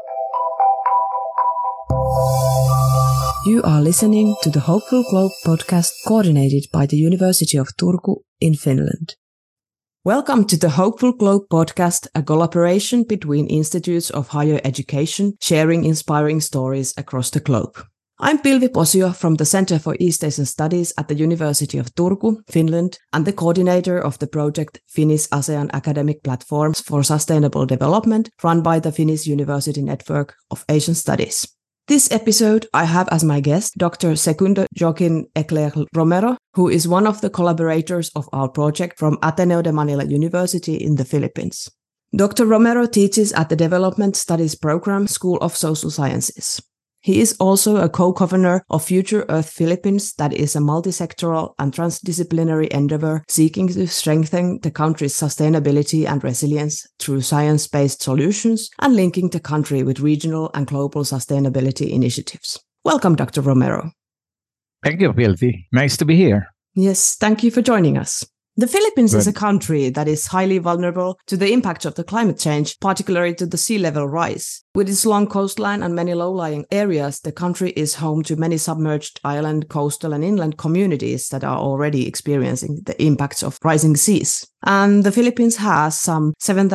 You are listening to the Hopeful Globe podcast coordinated by the University of Turku in Finland. Welcome to the Hopeful Globe podcast, a collaboration between institutes of higher education, sharing inspiring stories across the globe. I'm Pilvi Posio from the Center for East Asian Studies at the University of Turku, Finland, and the coordinator of the project Finnish ASEAN Academic Platforms for Sustainable Development, run by the Finnish University Network of Asian Studies. This episode, I have as my guest Dr. Segundo Joaquin Eclair Romero, who is one of the collaborators of our project from Ateneo de Manila University in the Philippines. Dr. Romero teaches at the Development Studies Program, School of Social Sciences. He is also a co-governor of Future Earth Philippines, that is a multi-sectoral and transdisciplinary endeavor seeking to strengthen the country's sustainability and resilience through science-based solutions and linking the country with regional and global sustainability initiatives. Welcome, Dr. Romero. Thank you, Pilvi. Nice to be here. Yes, thank you for joining us. The Philippines is a country that is highly vulnerable to the impact of the climate change, particularly to the sea level rise. With its long coastline and many low-lying areas, the country is home to many submerged island, coastal and inland communities that are already experiencing the impacts of rising seas. And the Philippines has some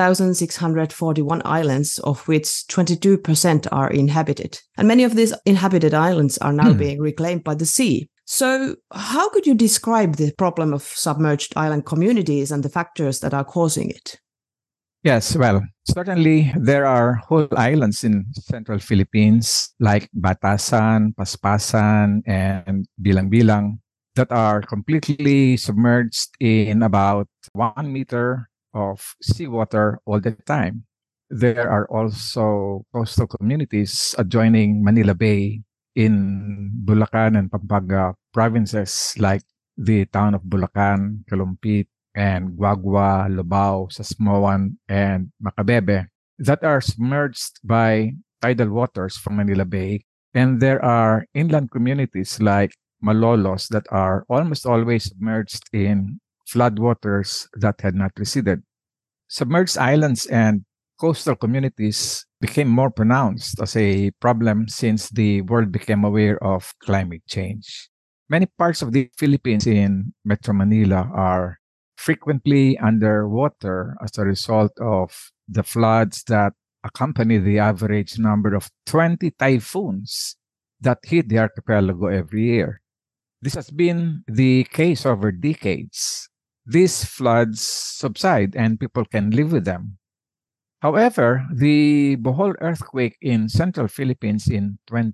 7,641 islands, of which 22% are inhabited. And many of these inhabited islands are now being reclaimed by the sea. So how could you describe the problem of submerged island communities and the factors that are causing it? Yes, well, certainly there are whole islands in central Philippines like Batasan, Paspasan, and Bilang-Bilang that are completely submerged in about 1 meter of seawater all the time. There are also coastal communities adjoining Manila Bay in Bulacan and Pampanga provinces like the town of Bulacan, Kalumpit, and Guagua, Lubao, Sasmuan, and Macabebe that are submerged by tidal waters from Manila Bay. And there are inland communities like Malolos that are almost always submerged in floodwaters that had not receded. Submerged islands and coastal communities became more pronounced as a problem since the world became aware of climate change. Many parts of the Philippines in Metro Manila are frequently underwater as a result of the floods that accompany the average number of 20 typhoons that hit the archipelago every year. This has been the case over decades. These floods subside and people can live with them. However, the Bohol earthquake in central Philippines in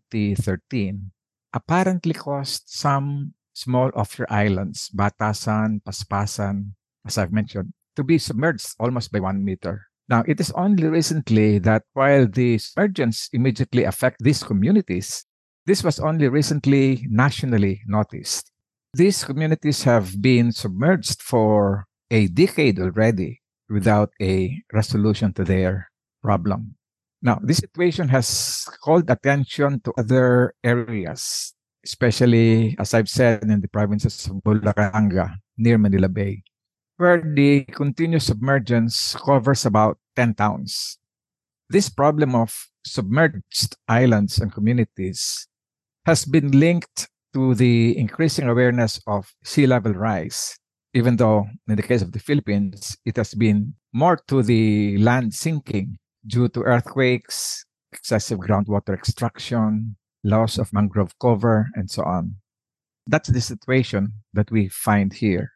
2013 apparently caused some small offshore islands, Batasan, Paspasan, as I've mentioned, to be submerged almost by 1 meter. Now, it is only recently that while the submergence immediately affect these communities, this was only recently nationally noticed. These communities have been submerged for a decade already without a resolution to their problem. Now, this situation has called attention to other areas, especially, as I've said, in the provinces of Bulacan, near Manila Bay, where the continuous submergence covers about 10 towns. This problem of submerged islands and communities has been linked to the increasing awareness of sea level rise, even though in the case of the Philippines, it has been more to the land sinking due to earthquakes, excessive groundwater extraction, loss of mangrove cover, and so on. That's the situation that we find here.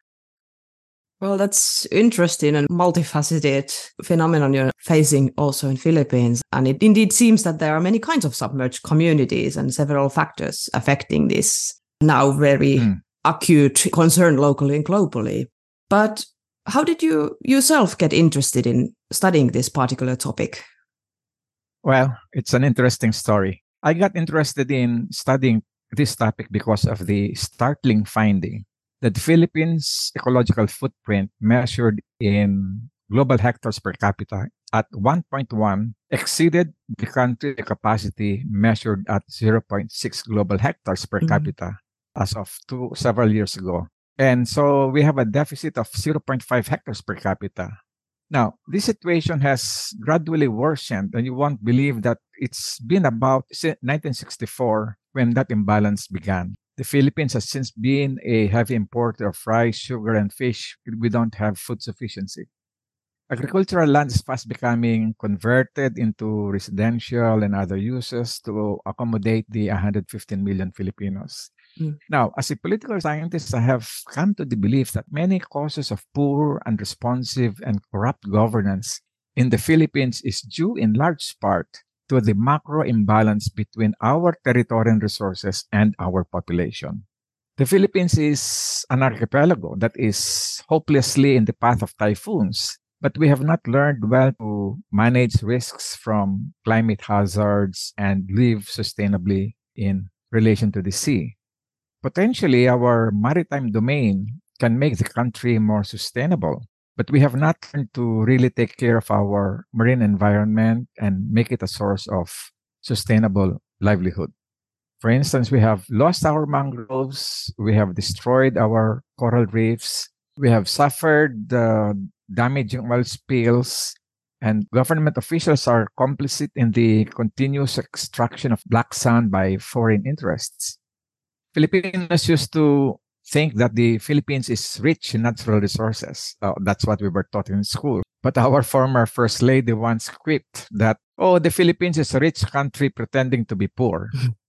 Well, that's interesting and multifaceted phenomenon you're facing also in Philippines. And it indeed seems that there are many kinds of submerged communities and several factors affecting this now very acute concern locally and globally. But how did you yourself get interested in studying this particular topic? Well, it's an interesting story. I got interested in studying this topic because of the startling finding that the Philippines' ecological footprint measured in global hectares per capita at 1.1 exceeded the country capacity measured at 0.6 global hectares per capita as of several years ago. And so we have a deficit of 0.5 hectares per capita. Now, this situation has gradually worsened, and you won't believe that it's been about 1964 when that imbalance began. The Philippines has since been a heavy importer of rice, sugar, and fish. We don't have food sufficiency. Agricultural land is fast becoming converted into residential and other uses to accommodate the 115 million Filipinos. Now, as a political scientist, I have come to the belief that many causes of poor, unresponsive, and corrupt governance in the Philippines is due in large part to the macro imbalance between our territorial resources and our population. The Philippines is an archipelago that is hopelessly in the path of typhoons, but we have not learned well to manage risks from climate hazards and live sustainably in relation to the sea. Potentially, our maritime domain can make the country more sustainable, but we have not learned to really take care of our marine environment and make it a source of sustainable livelihood. For instance, we have lost our mangroves, we have destroyed our coral reefs, we have suffered damaging oil spills, and government officials are complicit in the continuous extraction of black sand by foreign interests. Filipinos used to think that the Philippines is rich in natural resources. That's what we were taught in school. But our former First Lady once quipped that, oh, the Philippines is a rich country pretending to be poor.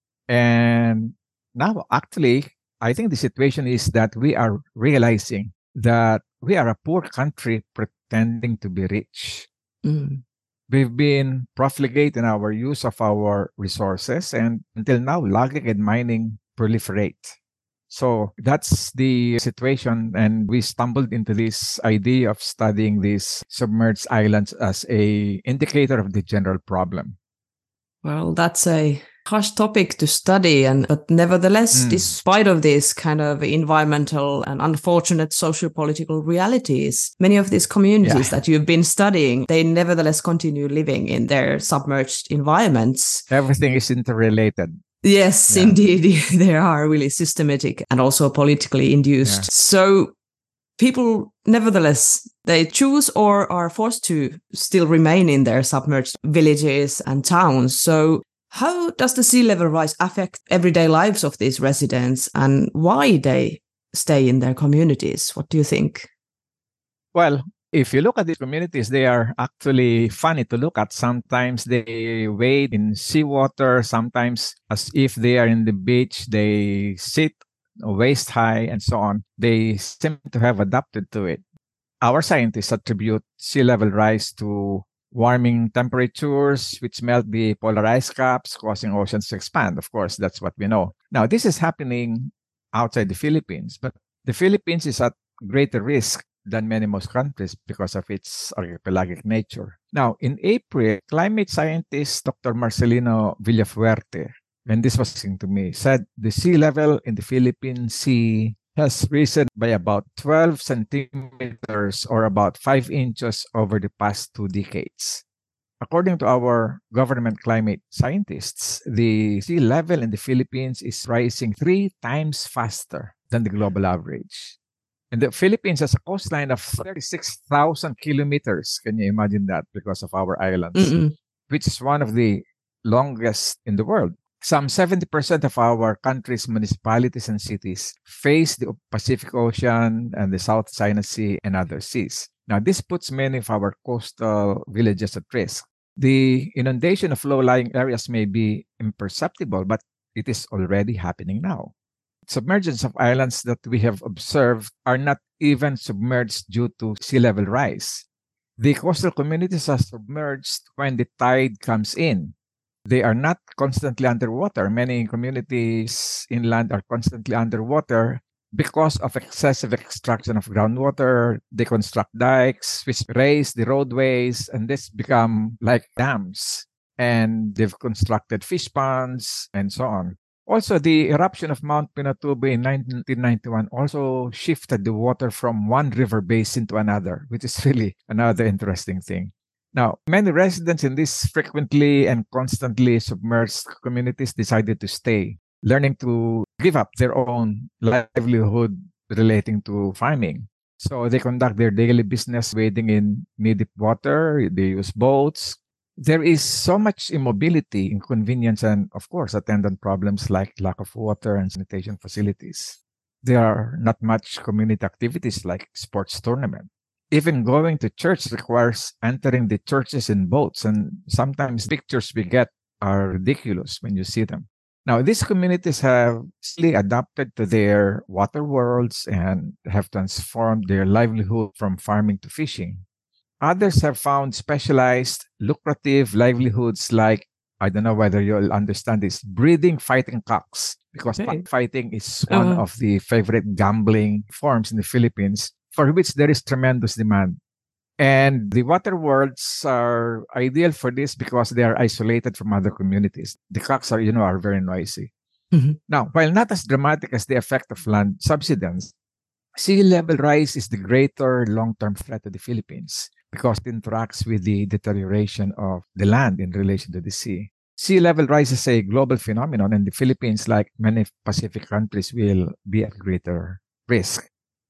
And now, actually, I think the situation is that we are realizing that we are a poor country pretending to be rich. We've been profligate in our use of our resources, and until now, logging and mining proliferate. So that's the situation, and we stumbled into this idea of studying these submerged islands as a indicator of the general problem. Well, that's a harsh topic to study, but nevertheless, despite of these kind of environmental and unfortunate socio-political realities, many of these communities that you've been studying, they nevertheless continue living in their submerged environments. Everything is interrelated. Yes, indeed. They are really systematic and also politically induced. So people, nevertheless, they choose or are forced to still remain in their submerged villages and towns. So how does the sea level rise affect everyday lives of these residents and why they stay in their communities? What do you think? Well, if you look at these communities, they are actually funny to look at. Sometimes they wade in seawater, sometimes as if they are in the beach, they sit waist high and so on. They seem to have adapted to it. Our scientists attribute sea level rise to warming temperatures, which melt the polar ice caps, causing oceans to expand. Of course, that's what we know. Now, this is happening outside the Philippines, but the Philippines is at greater risk than most countries because of its archipelagic nature. Now, in April, climate scientist Dr. Marcelino Villafuerte, and this was saying to me, said the sea level in the Philippine Sea has risen by about 12 centimeters or about 5 inches over the past 2 decades. According to our government climate scientists, the sea level in the Philippines is rising 3 times faster than the global average. And the Philippines has a coastline of 36,000 kilometers. Can you imagine that? Because of our islands, which is one of the longest in the world. Some 70% of our country's municipalities and cities face the Pacific Ocean and the South China Sea and other seas. Now, this puts many of our coastal villages at risk. The inundation of low-lying areas may be imperceptible, but it is already happening now. Submergence of islands that we have observed are not even submerged due to sea level rise. The coastal communities are submerged when the tide comes in. They are not constantly underwater. Many communities inland are constantly underwater because of excessive extraction of groundwater. They construct dikes, which raise the roadways, and this become like dams. And they've constructed fish ponds and so on. Also, the eruption of Mount Pinatubo in 1991 also shifted the water from one river basin to another, which is really another interesting thing. Now, many residents in these frequently and constantly submerged communities decided to stay, learning to give up their own livelihood relating to farming. So they conduct their daily business wading in knee-deep water. They use boats. There is so much immobility, inconvenience, and of course, attendant problems like lack of water and sanitation facilities. There are not much community activities like sports tournament. Even going to church requires entering the churches in boats, and sometimes pictures we get are ridiculous when you see them. Now, these communities have slowly adapted to their water worlds and have transformed their livelihood from farming to fishing. Others have found specialized, lucrative livelihoods like, I don't know whether you'll understand this, breeding fighting cocks, because Okay. cockfighting is one of the favorite gambling forms in the Philippines for which there is tremendous demand. And the water worlds are ideal for this because they are isolated from other communities. The cocks are very noisy. Mhm. Now, while not as dramatic as the effect of land subsidence, sea level rise is the greater long-term threat to the Philippines because it interacts with the deterioration of the land in relation to the sea. Sea level rise is a global phenomenon, and the Philippines, like many Pacific countries, will be at greater risk.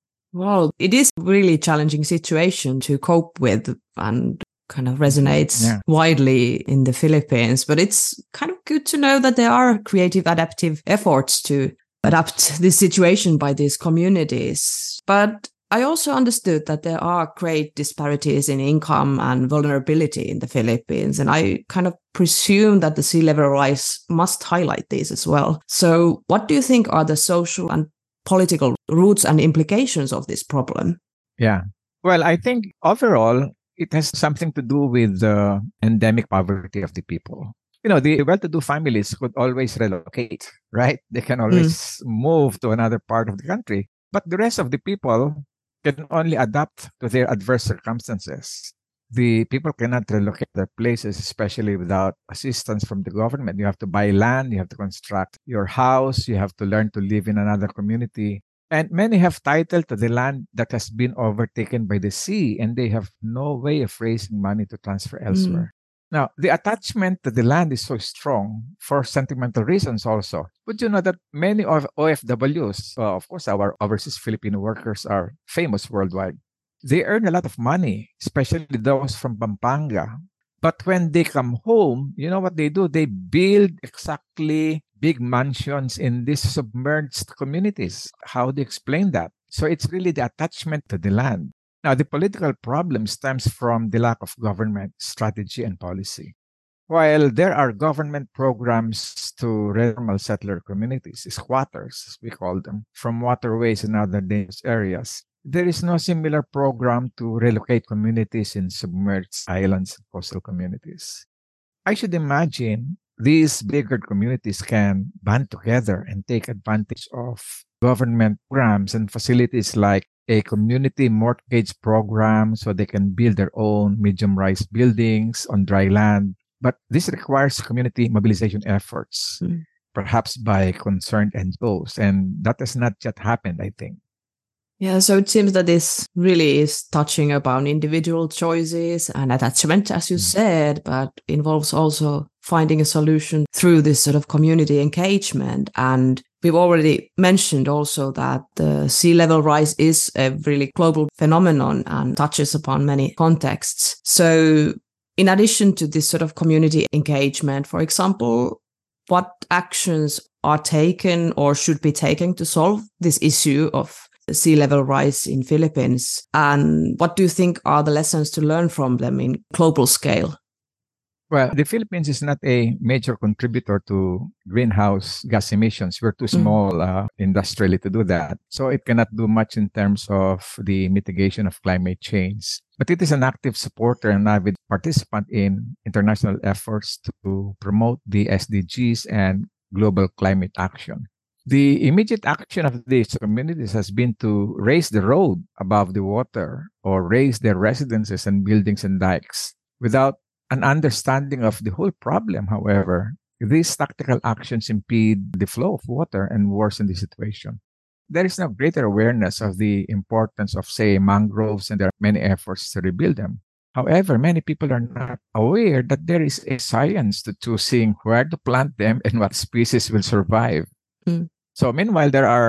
Well, it is a really challenging situation to cope with and kind of resonates Yeah. widely in the Philippines. But it's kind of good to know that there are creative adaptive efforts to adapt this situation by these communities. But I also understood that there are great disparities in income and vulnerability in the Philippines. And I kind of presume that the sea level rise must highlight these as well. So what do you think are the social and political roots and implications of this problem? Yeah. Well, I think overall, it has something to do with the endemic poverty of the people. The well-to-do families could always relocate, right? They can always move to another part of the country. But the rest of the people can only adapt to their adverse circumstances. The people cannot relocate their places, especially without assistance from the government. You have to buy land, you have to construct your house, you have to learn to live in another community. And many have title to the land that has been overtaken by the sea, and they have no way of raising money to transfer elsewhere. Now, the attachment to the land is so strong for sentimental reasons also. Would you know that many of OFWs, of course, our overseas Filipino workers are famous worldwide. They earn a lot of money, especially those from Pampanga. But when they come home, you know what they do? They build exactly big mansions in these submerged communities. How do you explain that? So it's really the attachment to the land. Now, the political problem stems from the lack of government strategy and policy. While there are government programs to reformal settler communities, squatters, as we call them, from waterways and other dangerous areas, there is no similar program to relocate communities in submerged islands and coastal communities. I should imagine these bigger communities can band together and take advantage of government programs and facilities like a community mortgage program so they can build their own medium-rise buildings on dry land. But this requires community mobilization efforts, perhaps by concerned NGOs, and that has not yet happened, I think. Yeah, so it seems that this really is touching upon individual choices and attachment, as you said, but involves also finding a solution through this sort of community engagement. And we've already mentioned also that the sea level rise is a really global phenomenon and touches upon many contexts. So in addition to this sort of community engagement, for example, what actions are taken or should be taken to solve this issue of sea level rise in Philippines? And what do you think are the lessons to learn from them in global scale? Well, the Philippines is not a major contributor to greenhouse gas emissions. We're too small industrially to do that. So it cannot do much in terms of the mitigation of climate change. But it is an active supporter and avid participant in international efforts to promote the SDGs and global climate action. The immediate action of these communities has been to raise the road above the water or raise their residences and buildings and dikes. Without an understanding of the whole problem, however, these tactical actions impede the flow of water and worsen the situation. There is no greater awareness of the importance of, say, mangroves, and there are many efforts to rebuild them. However, many people are not aware that there is a science to choosing where to plant them and what species will survive. So meanwhile, there are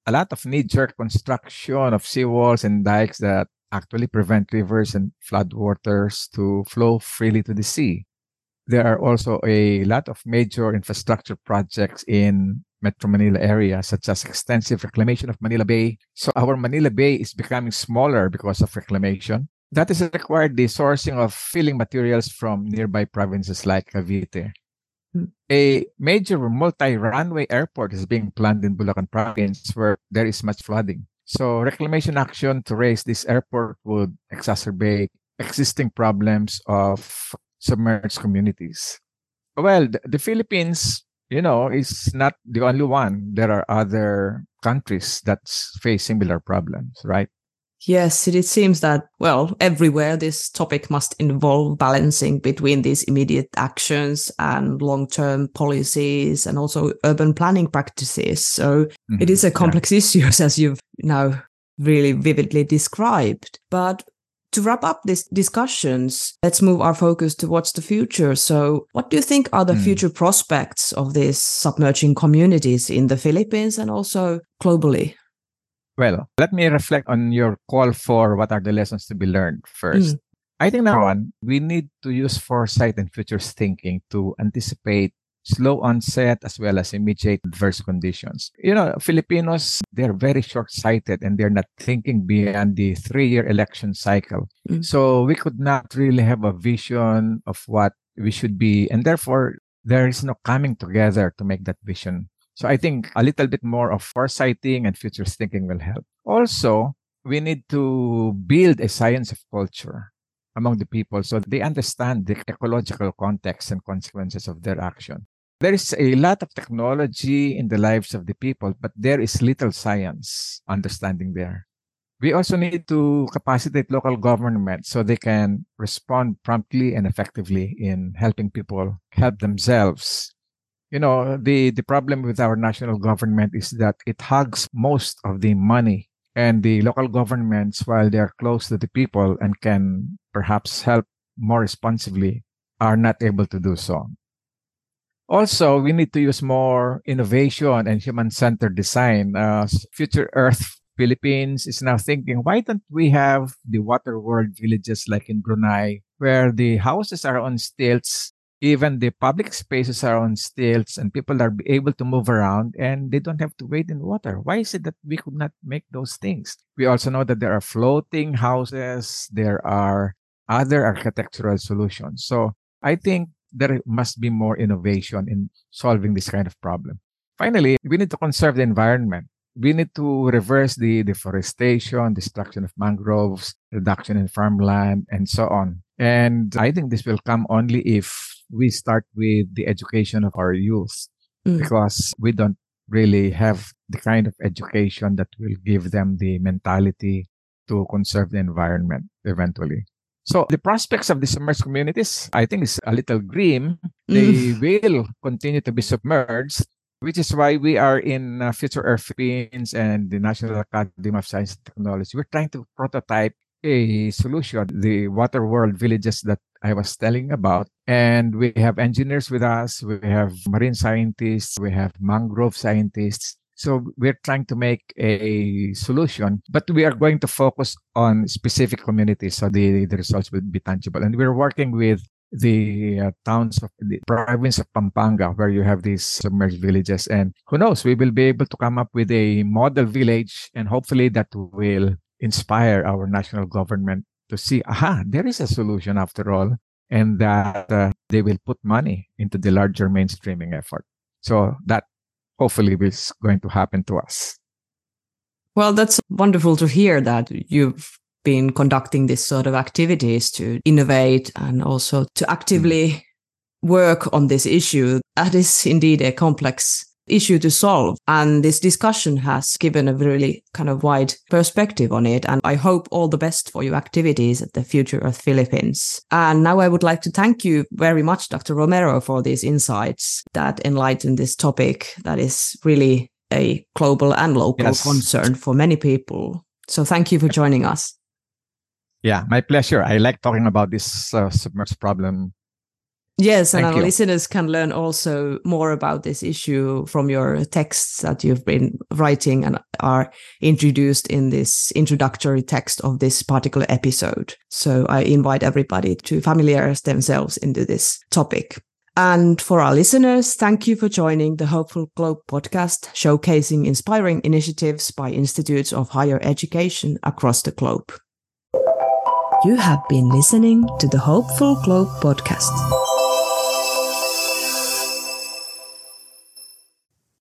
a lot of knee-jerk construction of seawalls and dikes that actually prevent rivers and floodwaters to flow freely to the sea. There are also a lot of major infrastructure projects in Metro Manila area, such as extensive reclamation of Manila Bay. So our Manila Bay is becoming smaller because of reclamation. That has required the sourcing of filling materials from nearby provinces like Cavite. A major multi-runway airport is being planned in Bulacan province where there is much flooding. So reclamation action to raise this airport would exacerbate existing problems of submerged communities. Well, the Philippines, is not the only one. There are other countries that face similar problems, right? Yes, it seems that, well, everywhere this topic must involve balancing between these immediate actions and long-term policies and also urban planning practices. So it is a complex issue, as you've now really vividly described. But to wrap up these discussions, let's move our focus towards the future. So what do you think are the future prospects of these submerging communities in the Philippines and also globally? Well, let me reflect on your call for what are the lessons to be learned first. I think number one, we need to use foresight and futures thinking to anticipate slow onset as well as immediate adverse conditions. Filipinos, they're very short-sighted and they're not thinking beyond the 3-year election cycle. So we could not really have a vision of what we should be. And therefore, there is no coming together to make that vision. So I think a little bit more of foresighting and futures thinking will help. Also, we need to build a science of culture among the people so they understand the ecological context and consequences of their action. There is a lot of technology in the lives of the people, but there is little science understanding there. We also need to capacitate local government so they can respond promptly and effectively in helping people help themselves. The problem with our national government is that it hogs most of the money, and the local governments, while they are close to the people and can perhaps help more responsibly, are not able to do so. Also, we need to use more innovation and human-centered design. Future Earth Philippines is now thinking, why don't we have the water world villages like in Brunei, where the houses are on stilts, even the public spaces are on stilts, and people are able to move around and they don't have to wade in water. Why is it that we could not make those things? We also know that there are floating houses, there are other architectural solutions. So I think there must be more innovation in solving this kind of problem. Finally, we need to conserve the environment. We need to reverse the deforestation, destruction of mangroves, reduction in farmland, and so on. And I think this will come only if we start with the education of our youth, because we don't really have the kind of education that will give them the mentality to conserve the environment eventually. So the prospects of the submerged communities, I think, is a little grim. They will continue to be submerged, which is why we are in Future Earth Philippines and the National Academy of Science and Technology. We're trying to prototype a solution, the water world villages that I was telling about. And we have engineers with us, we have marine scientists, we have mangrove scientists. So we're trying to make a solution, but we are going to focus on specific communities so the results will be tangible. And we're working with the towns of the province of Pampanga, where you have these submerged villages. And who knows, we will be able to come up with a model village, and hopefully that will inspire our national government to see, there is a solution after all, and that they will put money into the larger mainstreaming effort. So that hopefully is going to happen to us. Well, that's wonderful to hear that you've been conducting this sort of activities to innovate and also to actively work on this issue. That is indeed a complex issue to solve. And this discussion has given a really kind of wide perspective on it. And I hope all the best for your activities at the Future Earth Philippines. And now I would like to thank you very much, Dr. Romero, for these insights that enlighten this topic that is really a global and local concern for many people. So thank you for joining us. Yeah, my pleasure. I like talking about this submerged problem. Yes, and Thank our you. listeners can learn also more about this issue from your texts that you've been writing and are introduced in this introductory text of this particular episode. So I invite everybody to familiarize themselves into this topic. And for our listeners, thank you for joining the Hopeful Globe podcast, showcasing inspiring initiatives by institutes of higher education across the globe. You have been listening to the Hopeful Globe podcast.